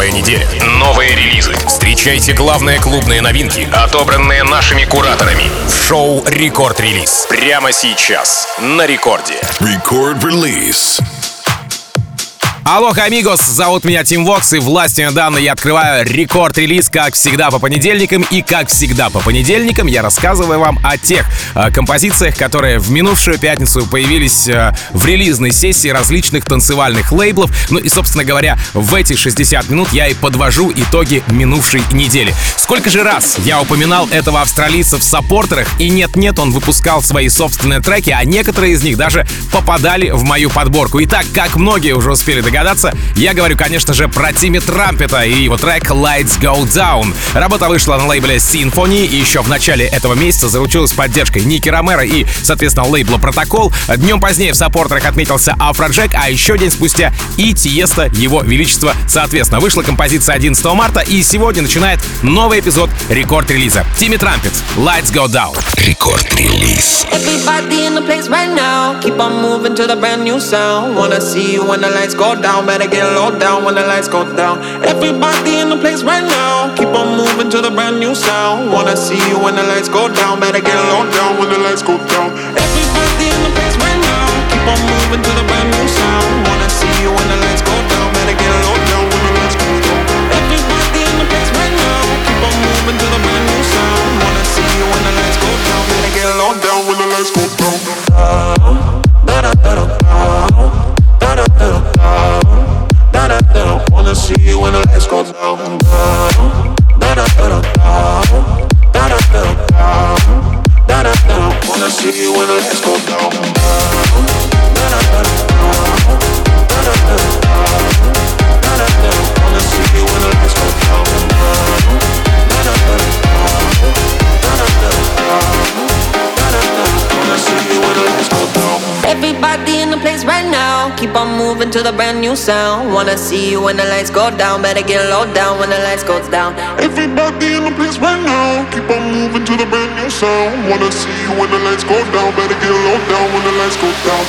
Новая неделя, новые релизы. Встречайте главные клубные новинки, отобранные нашими кураторами. В шоу «Рекорд-релиз». Прямо сейчас на Рекорде. Рекорд-релиз. Алло, амигос, зовут меня Тим Вокс, и властью недавно я открываю рекорд-релиз, как всегда по понедельникам. И как всегда по понедельникам я рассказываю вам о тех композициях, которые в минувшую пятницу появились в релизной сессии различных танцевальных лейблов. Ну и, собственно говоря, в эти 60 минут я и подвожу итоги минувшей недели. Сколько же раз я упоминал этого австралийца в саппортерах, и нет-нет, он выпускал свои собственные треки, а некоторые из них даже попадали в мою подборку. Итак, как многие уже успели догадаться, я говорю, конечно же, про Тимми Трампета и его трек Lights Go Down. Работа вышла на лейбле Symphony, и еще в начале этого месяца заручилась поддержкой Ники Ромеро и, соответственно, лейбла Протокол. Днем позднее в саппортерах отметился Афроджек, а еще день спустя и Тиеста, его величество, соответственно. Вышла композиция 11 марта, и сегодня начинает новый эпизод рекорд-релиза. Тимми Трампет, Lights Go Down. Рекорд-релиз. Everybody in the place right now, keep on moving to the brand new sound. Wanna see you when the lights go down, better get low down when the lights go down. Everybody in the place right now, keep on moving to the brand new sound. Wanna see you when the lights go down, better get low down when the lights go down. Everybody in the place right now, keep on moving to the brand new sound. Wanna see you when the lights go down, better get low down when the lights go down. Everybody in the place right now, keep on moving to the brand new sound. Wanna see you when the lights go down, better get low down when the lights go down. Wanna see you when the lights go down. Wanna see you when the lights go down. Wanna see you when the lights go down. Wanna see you when the lights go down. Everybody in the place right now, keep on moving to the brand new sound. Wanna see you when the lights go down, better get low down when the lights go down. Everybody in the place right now, keep on moving to the brand new sound. Wanna see you when the lights go down, better get low down when the lights go down.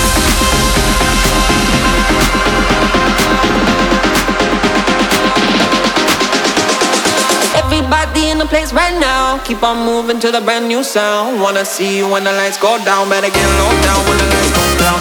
Everybody in the place right now, keep on moving to the brand new sound. Wanna see you when the lights go down, better get low down when the lights go down.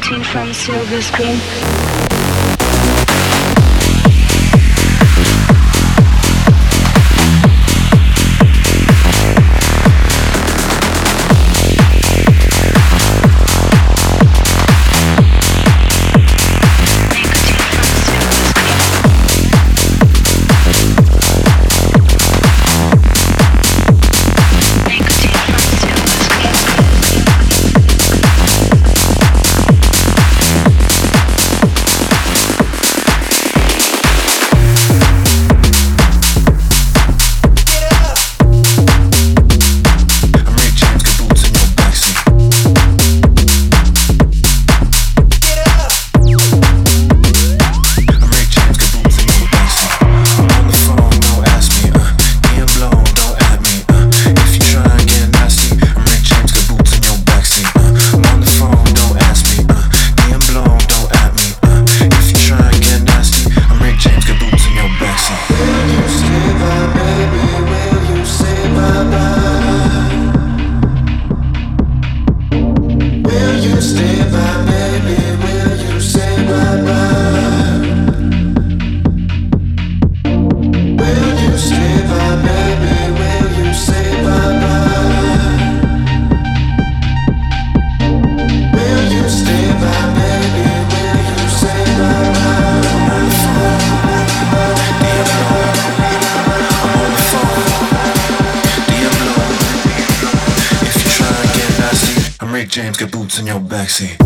Nicotine from silver screen. James got boots in your backseat.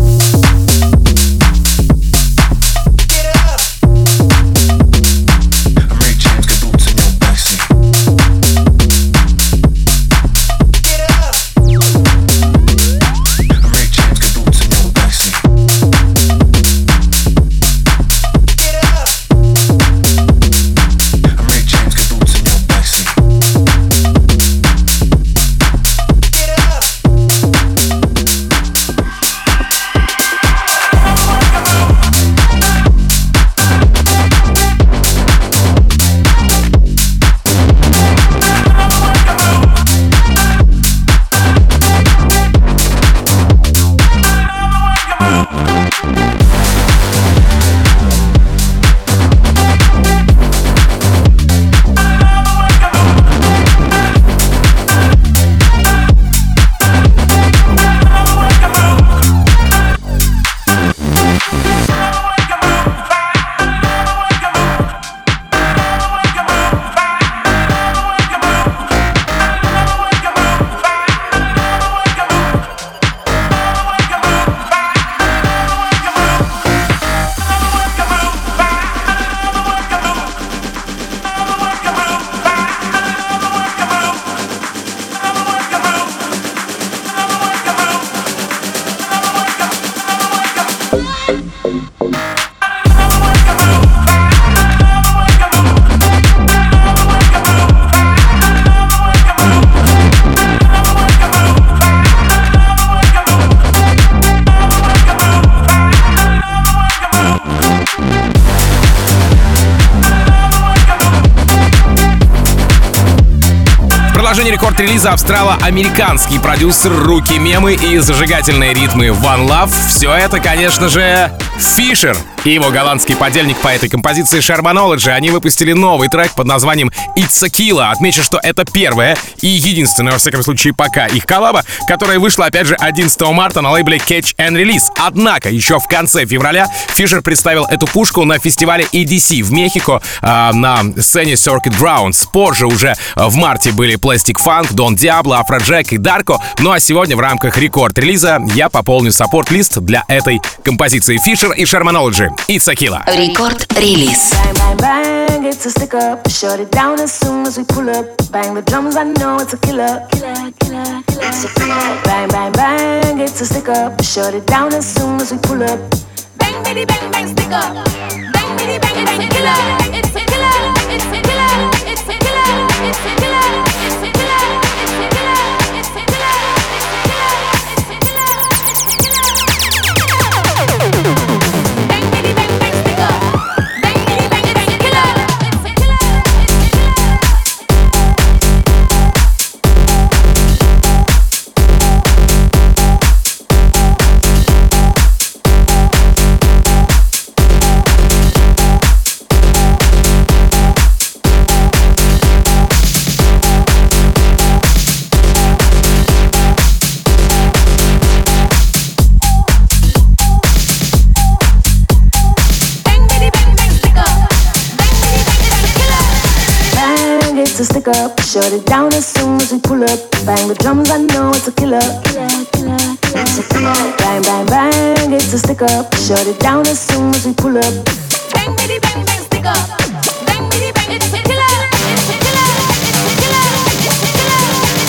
Рекорд-релиза австрало-американский продюсер, руки мемы и зажигательные ритмы One Love. Все это, конечно же, Fisher и его голландский подельник по этой композиции Shermanology. Они выпустили новый трек под названием It's a Killa. Отмечу, что это первая и единственная, во всяком случае, пока их коллаба, которая вышла, опять же, 11 марта на лейбле Catch and Release. Однако, еще в конце февраля Fisher представил эту пушку на фестивале EDC в Мехико на сцене Circuit Grounds. Позже, уже в марте, были Plastic Funk, Don Diablo, Afrojack и Darko. Ну а сегодня в рамках рекорд-релиза я пополню саппорт-лист для этой композиции Fisher и Shermanology. It's a Killa. Рекорд-релиз. Bang, bang, bang, it's a stick up. Shut it down as soon as we pull up. Bang the drums, I know it's a killer. Killer, killer, killer. It's a killer. Bang, bang, bang, it's a stick up. Shut it down as soon as we pull up. Bang, bitty, bang, bang, stick up. Bang, bitty, bang, bang, killer. It's a killer. It's a killer. It's a killer. It's a killer. It's a killer. It's a killer. gets a stick up. Shut it down as soon as we pull up. Bang the drums, I know it's a killer. It's a killer. Bang, bang, bang, it's a stick up. Shut it down as soon as we pull up. Bang, bitty, bang, bang, stick up. Bang, bitty, bang, it's a killer. It's a killer. It's a killer. It's a killer.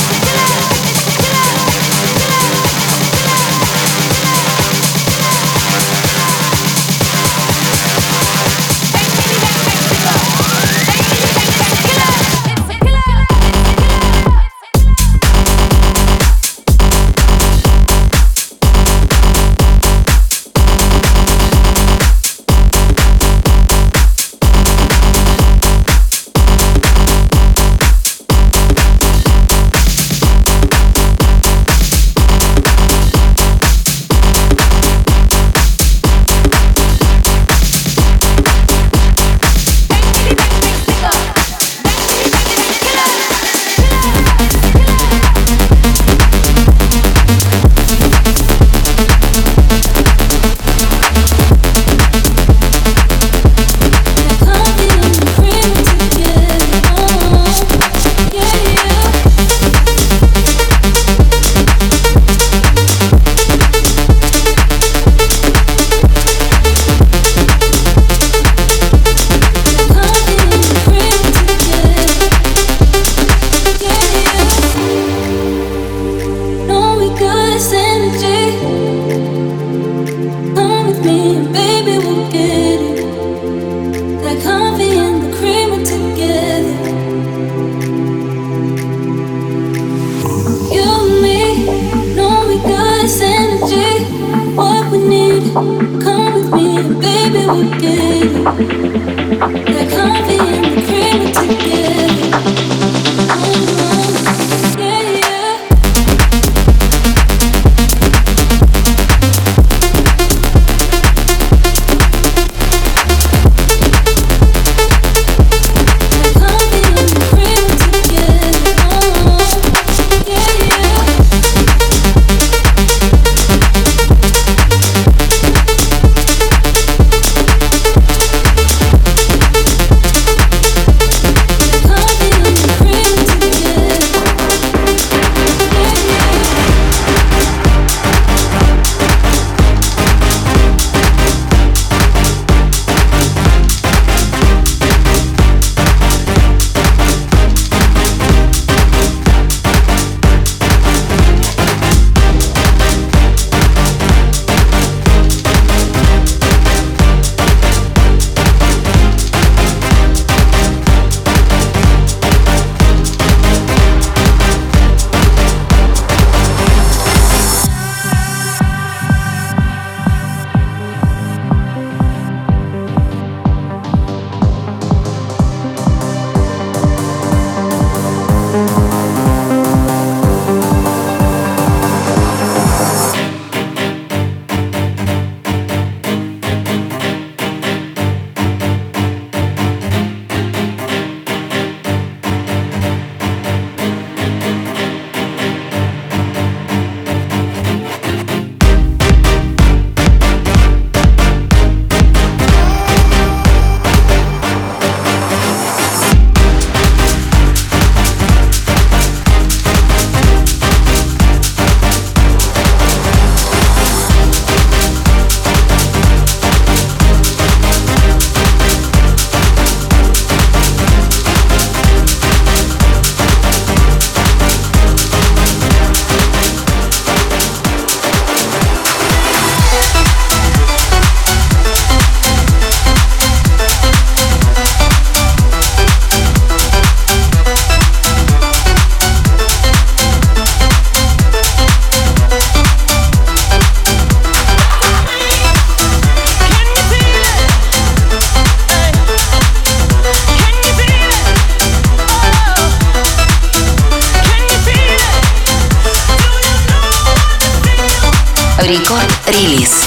Рекорд-релиз.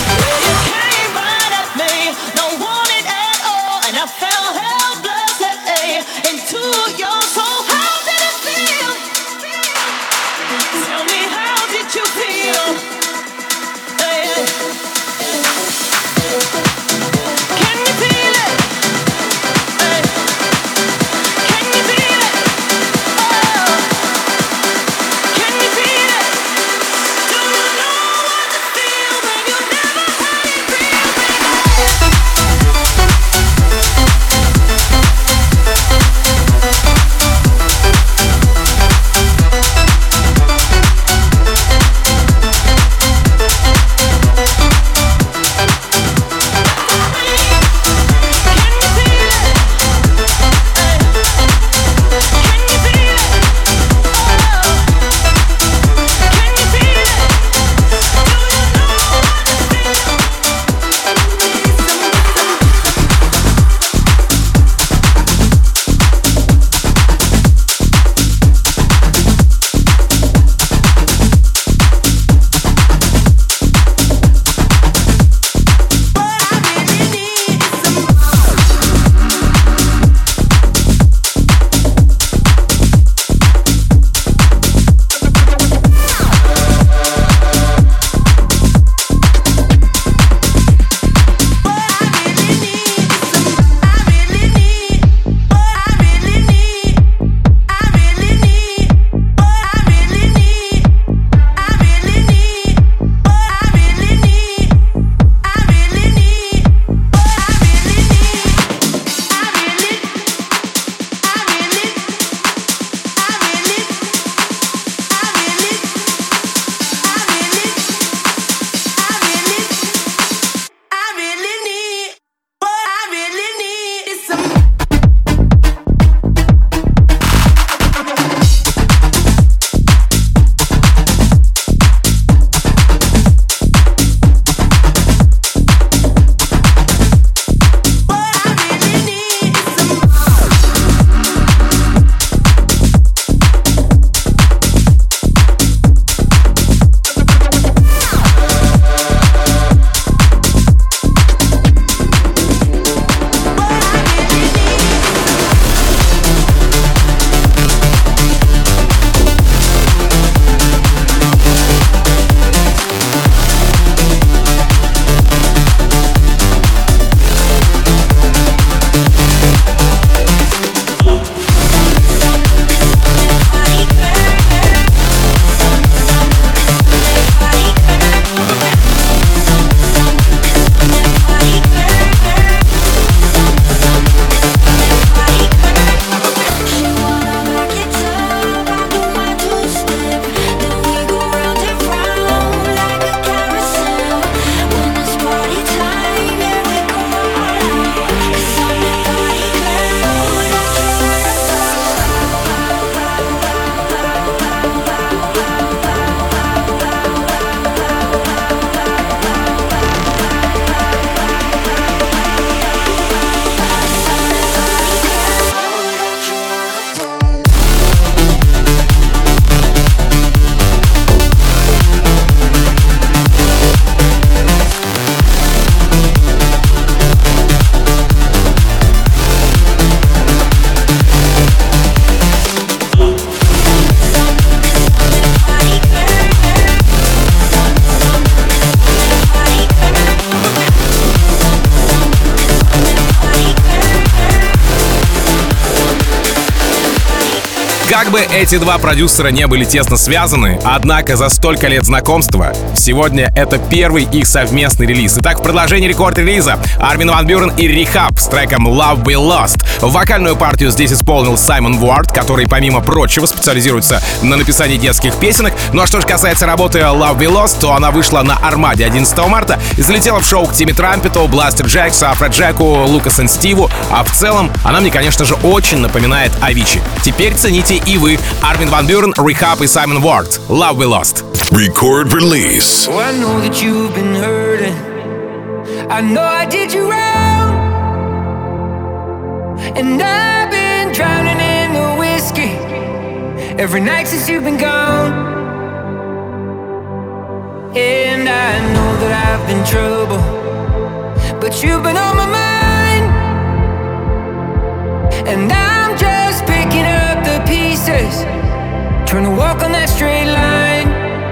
Как бы эти два продюсера не были тесно связаны, однако за столько лет знакомства сегодня это первый их совместный релиз. Итак, в продолжении рекорд-релиза Армин ван Бюрен и Rehab с треком Love We Lost. Вокальную партию здесь исполнил Саймон Уорд, который, помимо прочего, специализируется на написании детских песенок. Ну а что же касается работы Love We Lost, то она вышла на Армаде 11 марта и залетела в шоу к Тимми Трампету, Бластер Джексу, Афроджеку, Лукас и Стиву. А в целом она мне, конечно же, очень напоминает Avicii. Теперь цените и вы. Армин ван Бюрен, Rehab и Саймон Уорд. Love We Lost. Record release. Oh, I know that you've been hurting. I know I did you wrong. And I've been drowning in the whiskey every night since you've been gone. And I know that I've been trouble, but you've been on my mind. And I'm just picking up the pieces, trying to walk on that straight line.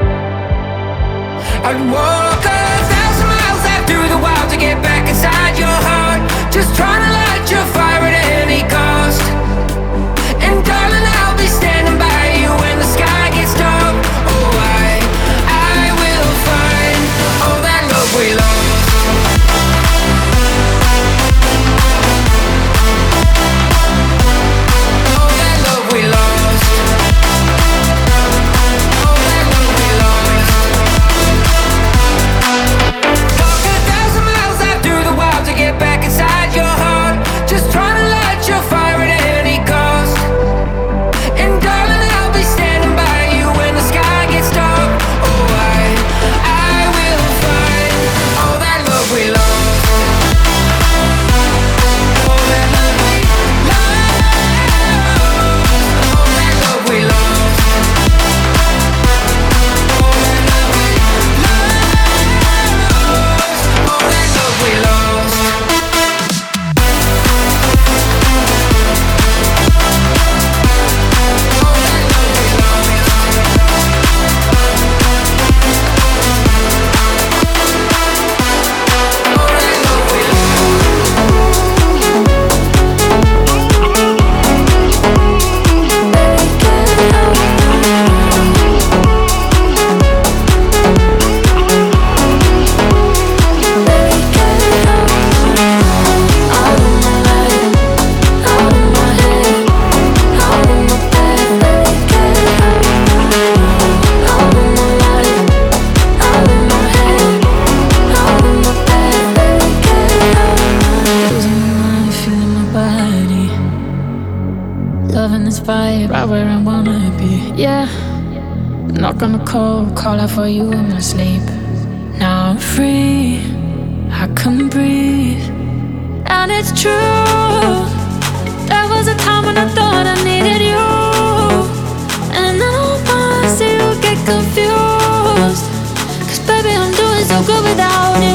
I'd walk 1,000 miles out through the wild to get back inside your heart, just trying to light your fire at any cost. And darling, I'll be standing by you when the sky gets dark. Oh, I will find all that love we lost. All that love we lost. All that love we lost. Walk 1,000 miles out through the wild to get back inside your heart, just trying to light your fire at any cost. And darling, I'll be standing by you when the sky gets dark. Oh, I will find all that love we lost. All that love we lost. All that love we lost. All that love we lost. All that love we lost. Loving this vibe, right where I wanna be. Yeah, I'm not gonna call out for you in my sleep. Now I'm free, I can breathe. And it's true, there was a time when I thought I needed you, and I don't wanna see you get confused, 'cause baby I'm doing so good without you.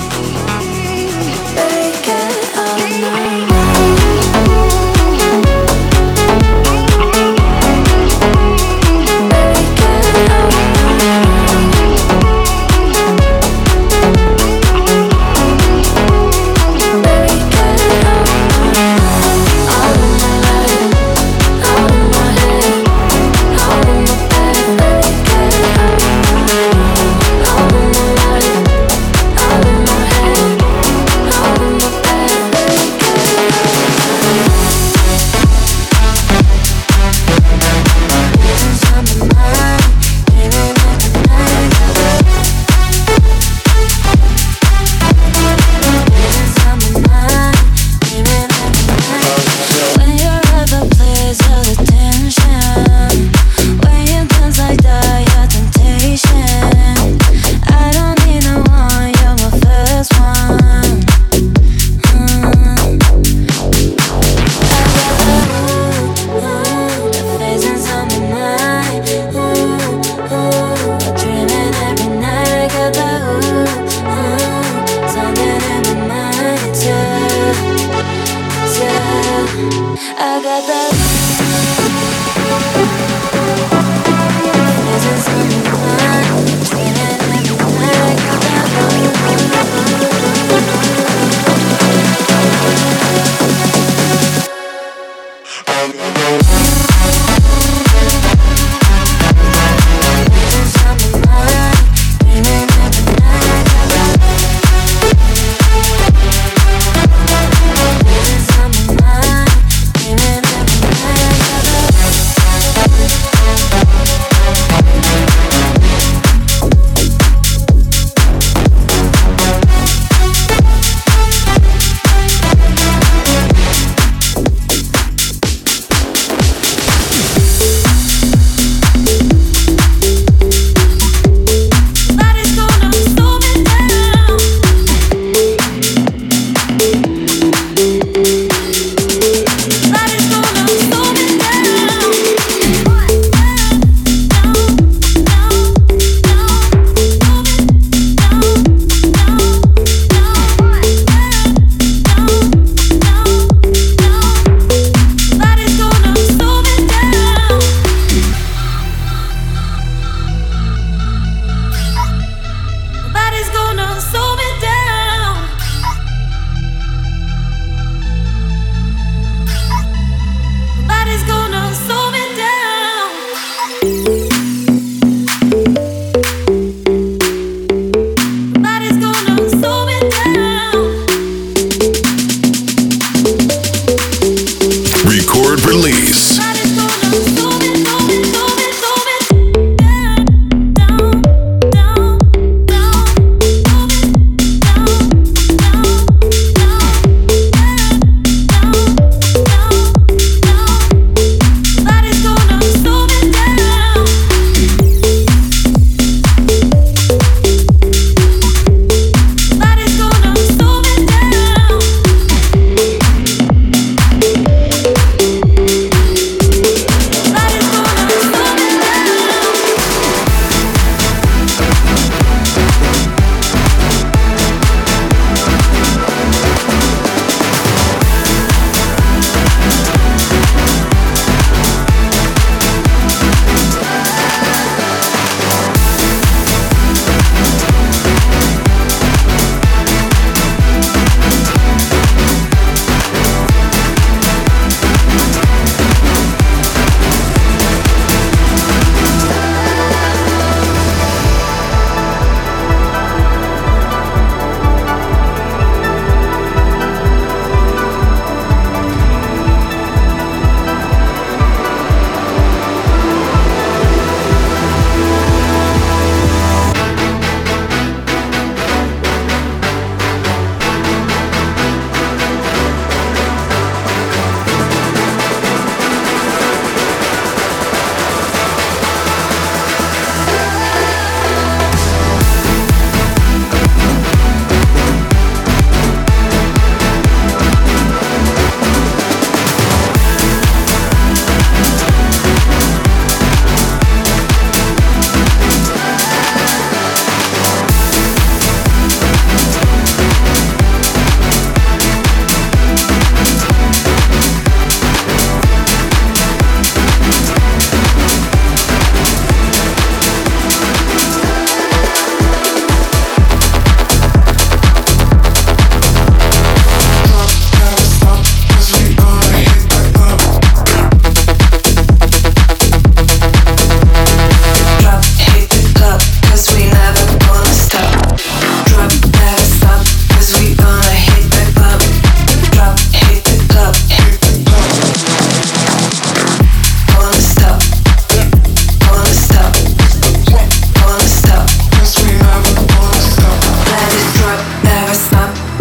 Take it all night.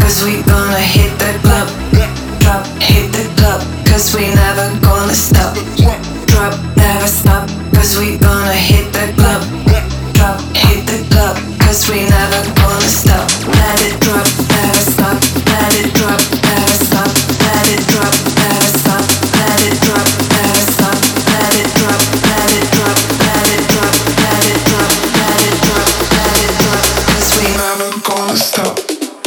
cause we gonna hit the club. Drop, hit the club, cause we never gonna stop. Drop, never stop, cause we gonna hit the club. Drop, hit the club, cause we never gonna stop. Let it drop, never stop. Let it drop, never stop. Let it drop, never stop. Let it drop, never stop. Let it drop, let it drop, let it drop, let it drop, let it drop, let it drop, cause we never gonna stop.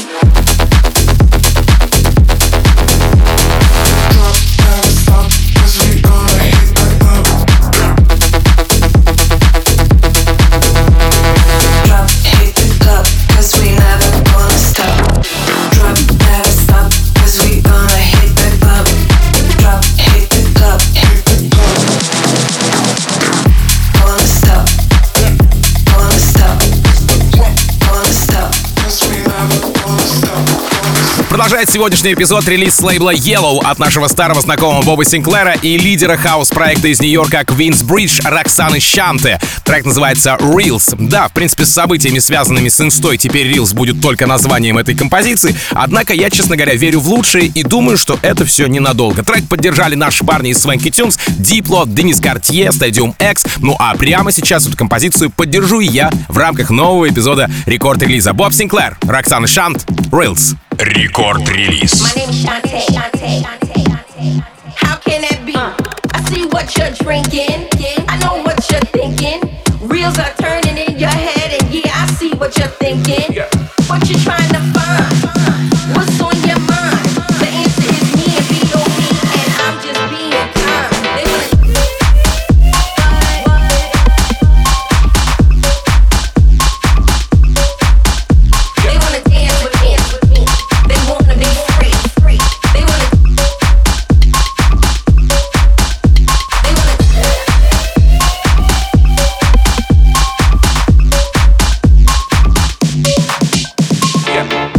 Продолжает сегодняшний эпизод релиз с лейбла Yellow от нашего старого знакомого Боба Синклера и лидера хаус-проекта из Нью-Йорка Queensbridge Роксаны Шанте. Трек называется Reels. Да, в принципе, с событиями, связанными с инстой, теперь Reels будет только названием этой композиции, однако я, честно говоря, верю в лучшее и думаю, что это все ненадолго. Трек поддержали наши парни из Swanky Tunes, Diplo, Денис Картье, Stadium X. Ну а прямо сейчас эту композицию поддержу и я в рамках нового эпизода рекорд-релиза. Боб Синклер, Роксана Шант, Reels. Рекорд-релиз. My name's Shantae. How can that be? I see what you're drinking. I know what you're thinking. Reels are turning in your head, and yeah, I see what you're thinking. What you trying to find? What's on your mind? The answer is me and B.O.B. and I'm just being kind. They wanna dance with me. They wanna be free. They wanna. Yeah.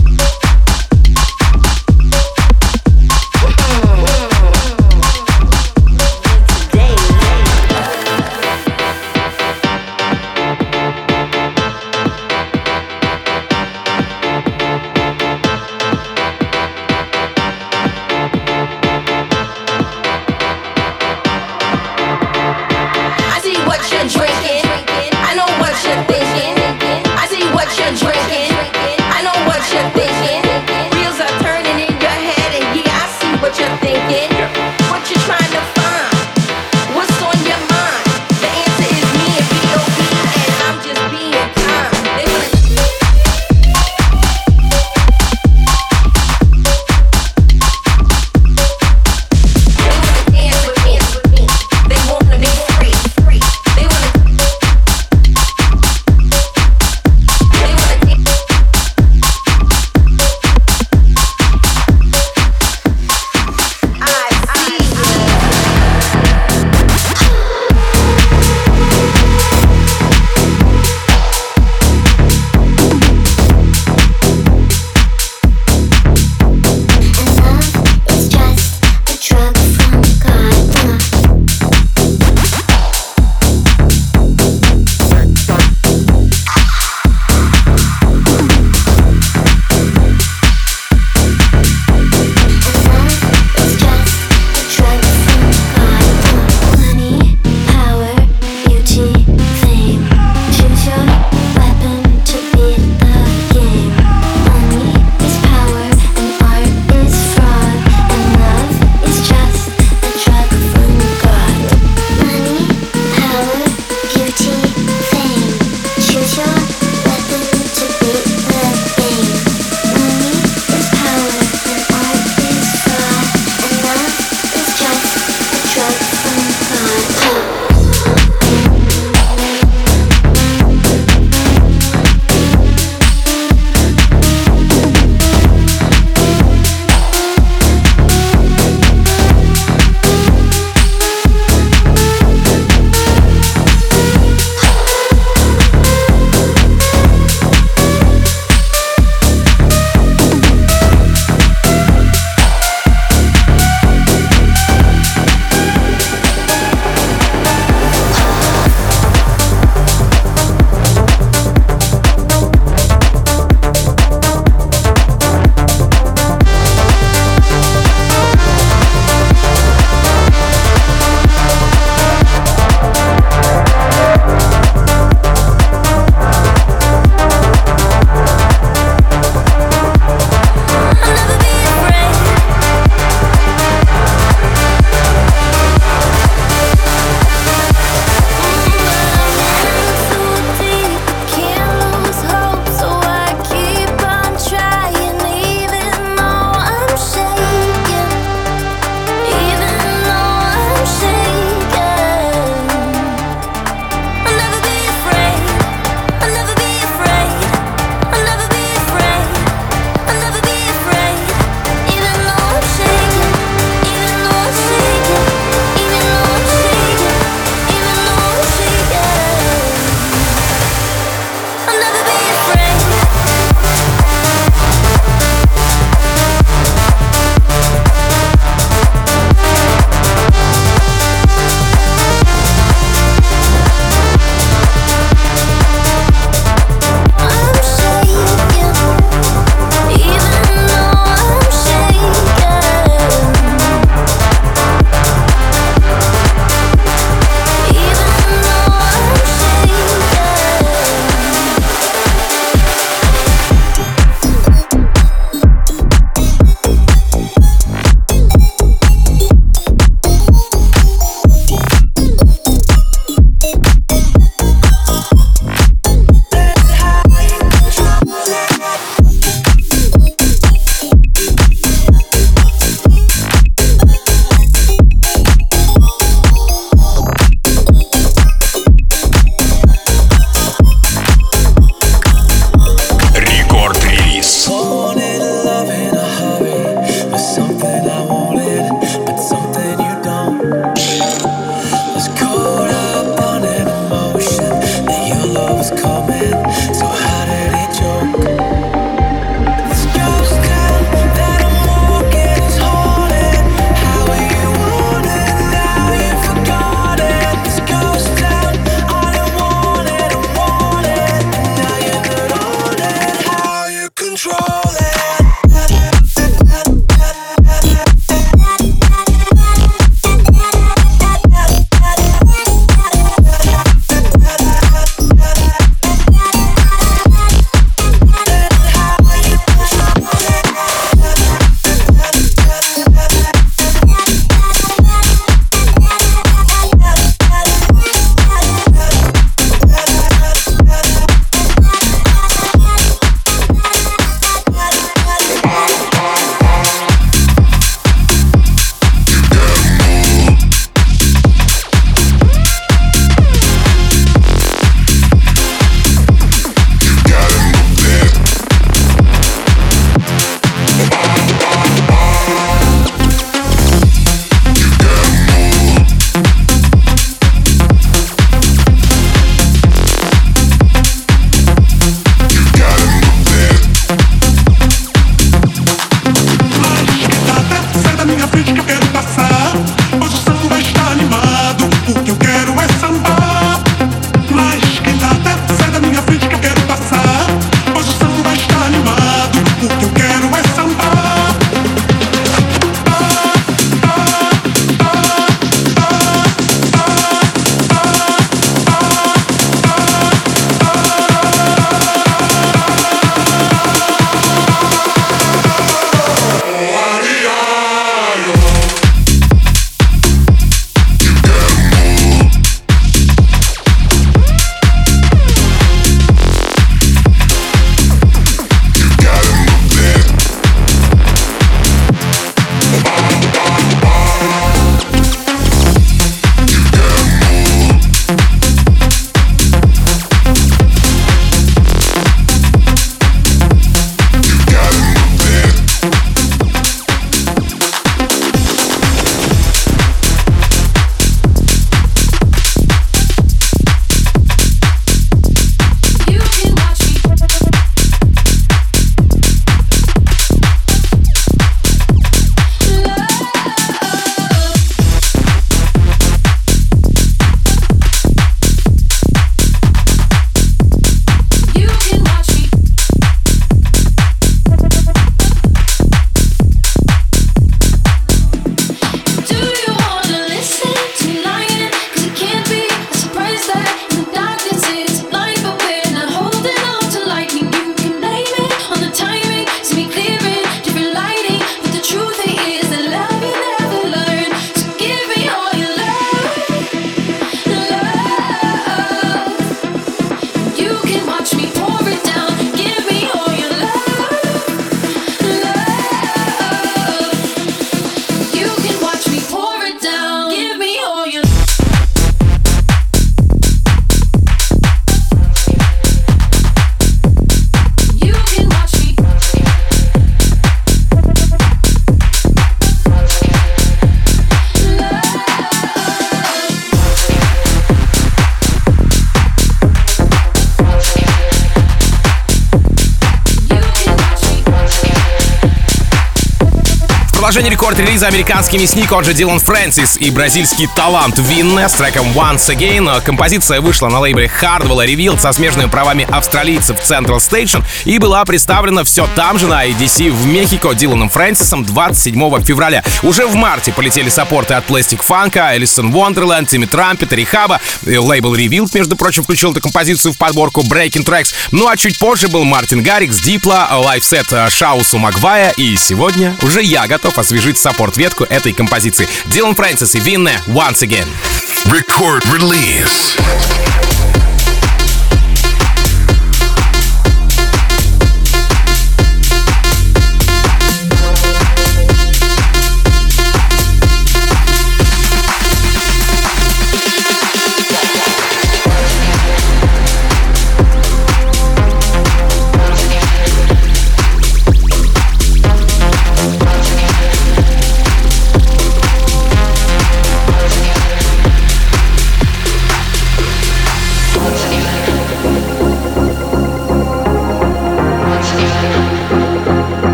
Продолжение рекорд-релиза американский мясник, он же Дилан Фрэнсис, и бразильский талант Винне с треком Once Again. Композиция вышла на лейбле Hardwell Revealed со смежными правами австралийцев Central Station и была представлена все там же на EDC в Мехико Диланом Фрэнсисом 27 февраля. Уже в марте полетели саппорты от Plastic Funk, Alison Wonderland, Тимми Трампета, Рихаба. Лейбл Revealed, между прочим, включил эту композицию в подборку Breaking Tracks. Ну а чуть позже был Мартин Гаррикс, Дипла, лайфсет Шаусу Магвая, и сегодня уже я готов освежить саппорт-ветку этой композиции. Дилан Фрэнсис и Винне Once Again. Record release.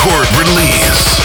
Record release.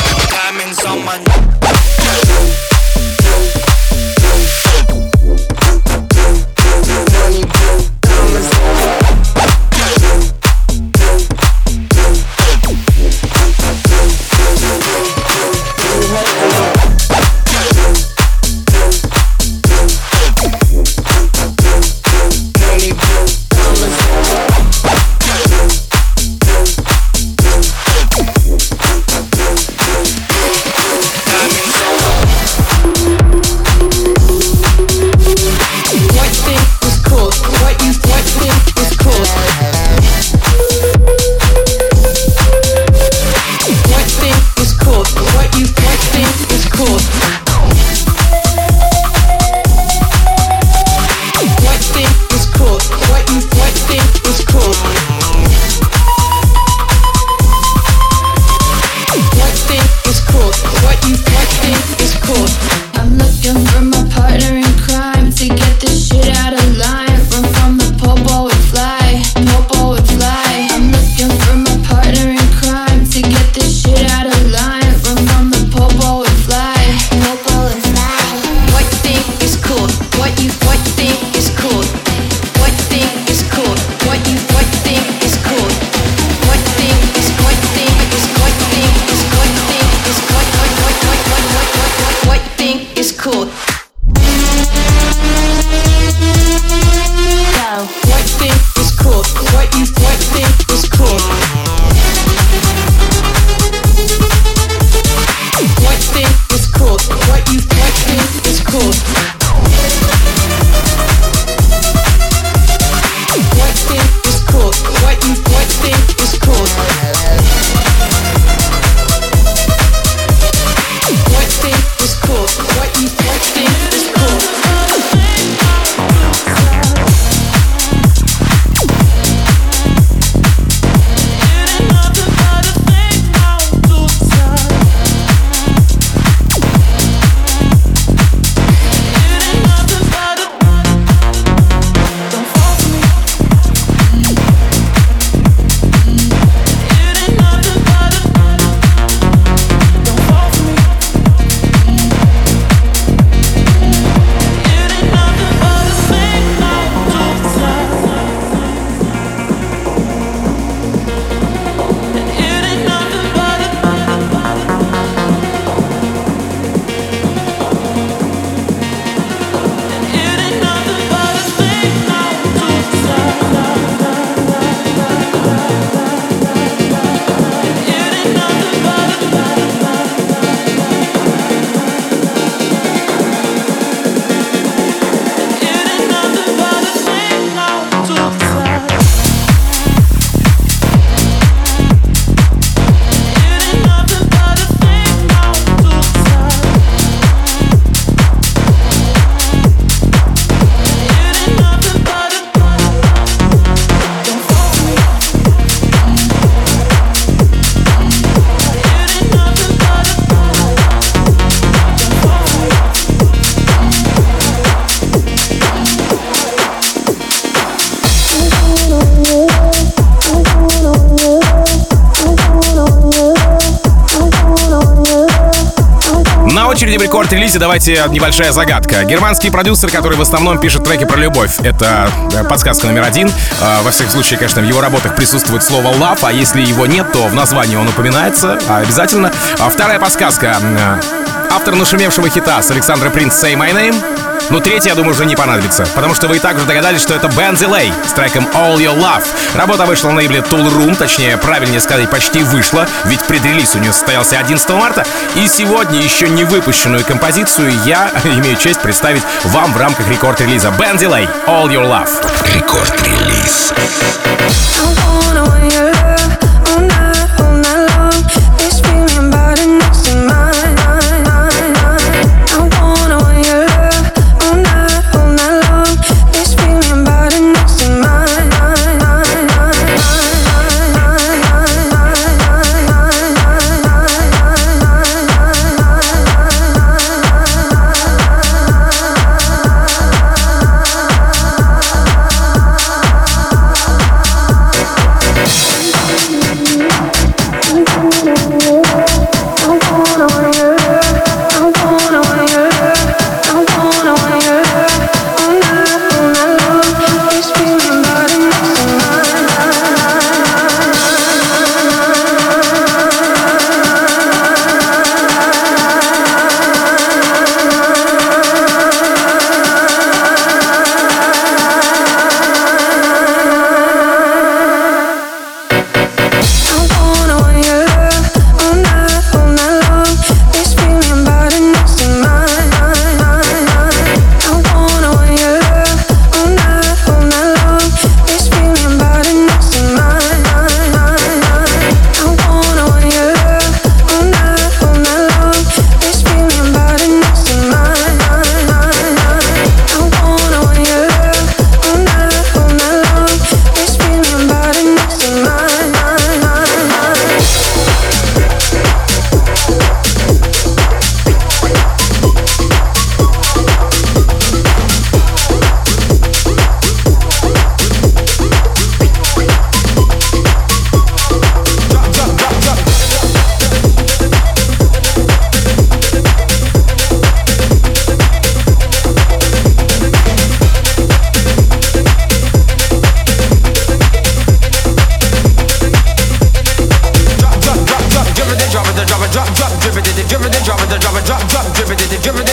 очереди в рекорд-релизе давайте небольшая загадка. Германский продюсер, который в основном пишет треки про любовь. Это подсказка номер один. Во всяком случае, конечно, в его работах присутствует слово love, а если его нет, то в названии он упоминается обязательно. Вторая подсказка. Автор нашумевшего хита с Александра Принц «Say My Name». Но третья, я думаю, уже не понадобится, потому что вы и так уже догадались, что это Бен Дилей с треком All Your Love. Работа вышла на лейбле Tool Room, точнее, правильнее сказать, почти вышла, ведь предрелиз у нее состоялся 11 марта. И сегодня еще не выпущенную композицию я имею честь представить вам в рамках рекорд-релиза. Бен Дилей, All Your Love. Рекорд-релиз.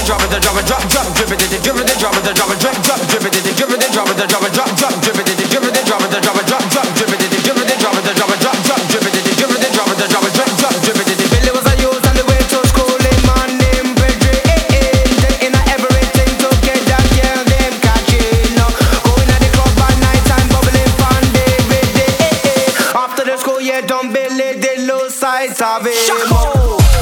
drop it, drop it, drop, drop, drip it, drip it, drop it, drop it, drop, drop, drip it, drip it, drop it, drop it, drop, drop, drip it, drip it, drop it, drop it, drop, drop, drip it, drip it, drop it, drop it, drop, drop, drip it, drip it, drop it, drop it, drop, drop, drip it. Billy was a youth on the way to school. Him man named Pedro, in everything to get that girl them catching. Going at the club at night time, bubbling fun day with day. After the school, yeah, don't Billy the low sides of him.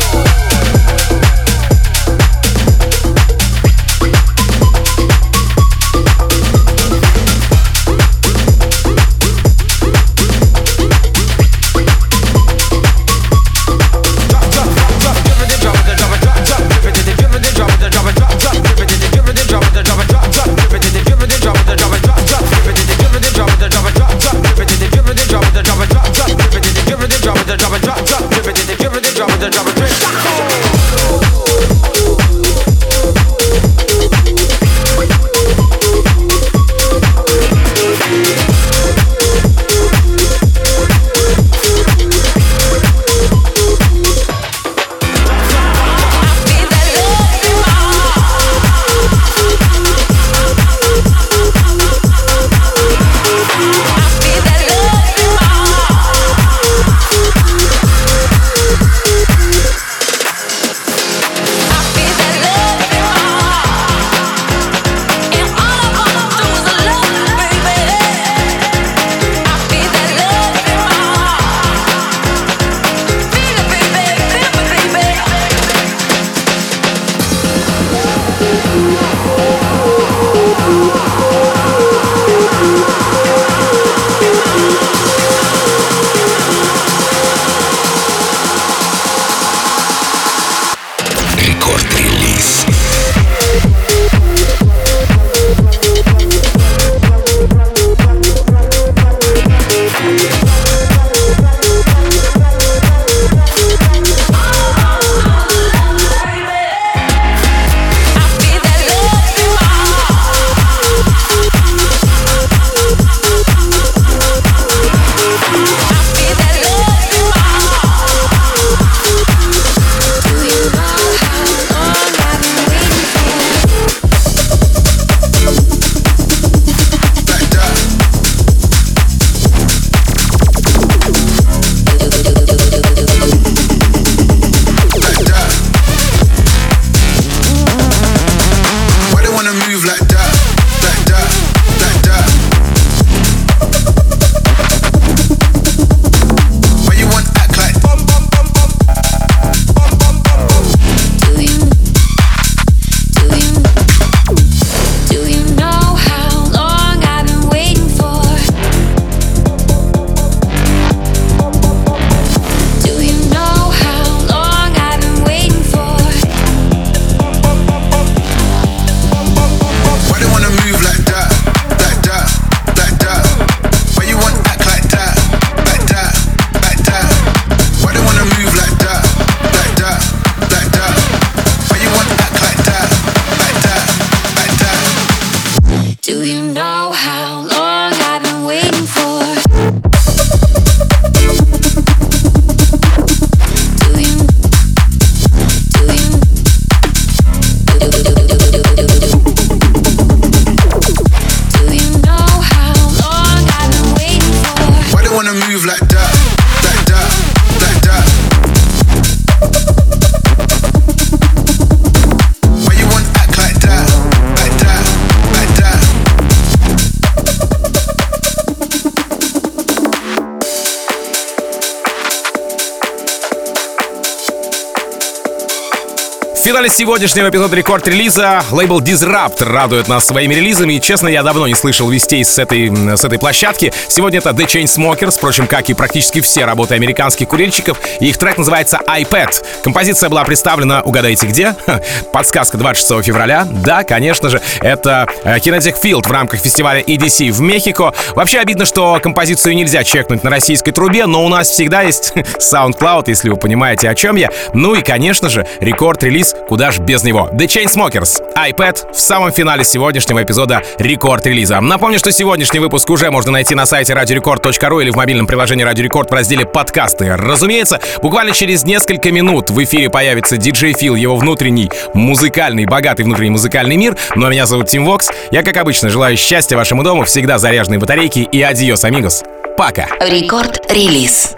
В финале сегодняшнего эпизода рекорд-релиза лейбл Disrupt радует нас своими релизами. И, честно, я давно не слышал вестей с этой площадки. Сегодня это The Chainsmokers, впрочем, как и практически все работы американских курильщиков. И их трек называется iPad. Композиция была представлена, угадайте где? Подсказка 26 февраля. Да, конечно же, это Kinetic Field в рамках фестиваля EDC в Мехико. Вообще обидно, что композицию нельзя чекнуть на российской трубе, но у нас всегда есть SoundCloud, если вы понимаете, о чем я. Ну и, конечно же, рекорд-релиз релиз, куда ж без него. The Chainsmokers, iPad в самом финале сегодняшнего эпизода рекорд-релиза. Напомню, что сегодняшний выпуск уже можно найти на сайте radiorecord.ru или в мобильном приложении Radio Record в разделе «Подкасты». Разумеется, буквально через несколько минут в эфире появится DJ Phil, его внутренний музыкальный, богатый внутренний музыкальный мир. Но меня зовут Тим Вокс. Я, как обычно, желаю счастья вашему дому, всегда заряженные батарейки и адьос, амигос. Пока. Рекорд-релиз.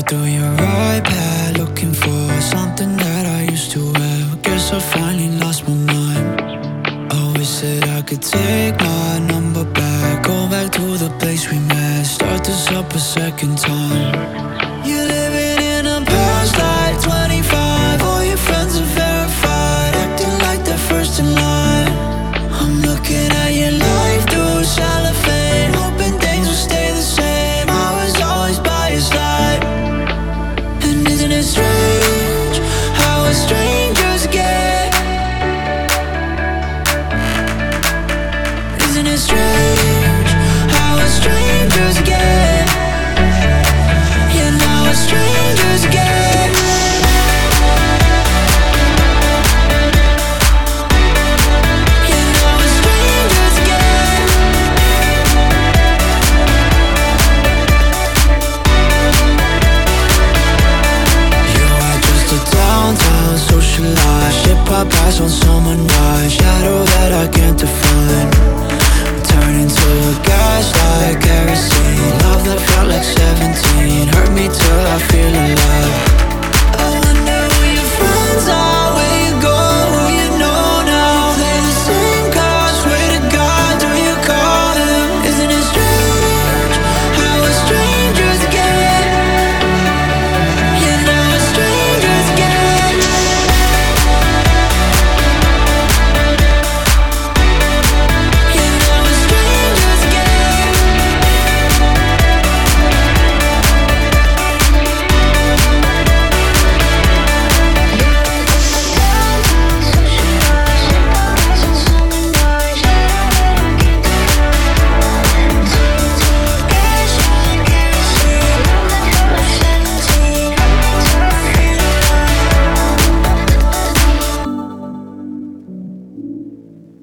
Said I could take my number back, go back to the place we met, start this up a second time. You're living in a past life, 25, all your friends are verified, acting like they're first in line. I'm looking at your life through cellophane, hoping things will stay the same. I was always by your side. And isn't it strange how a stranger